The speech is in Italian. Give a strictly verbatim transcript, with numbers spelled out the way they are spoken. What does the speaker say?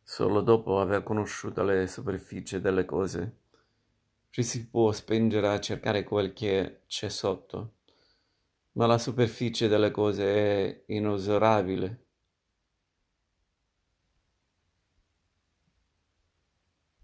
Solo dopo aver conosciuto le superfici delle cose ci si può spingere a cercare quel che c'è sotto. Ma la superficie delle cose è inesorabile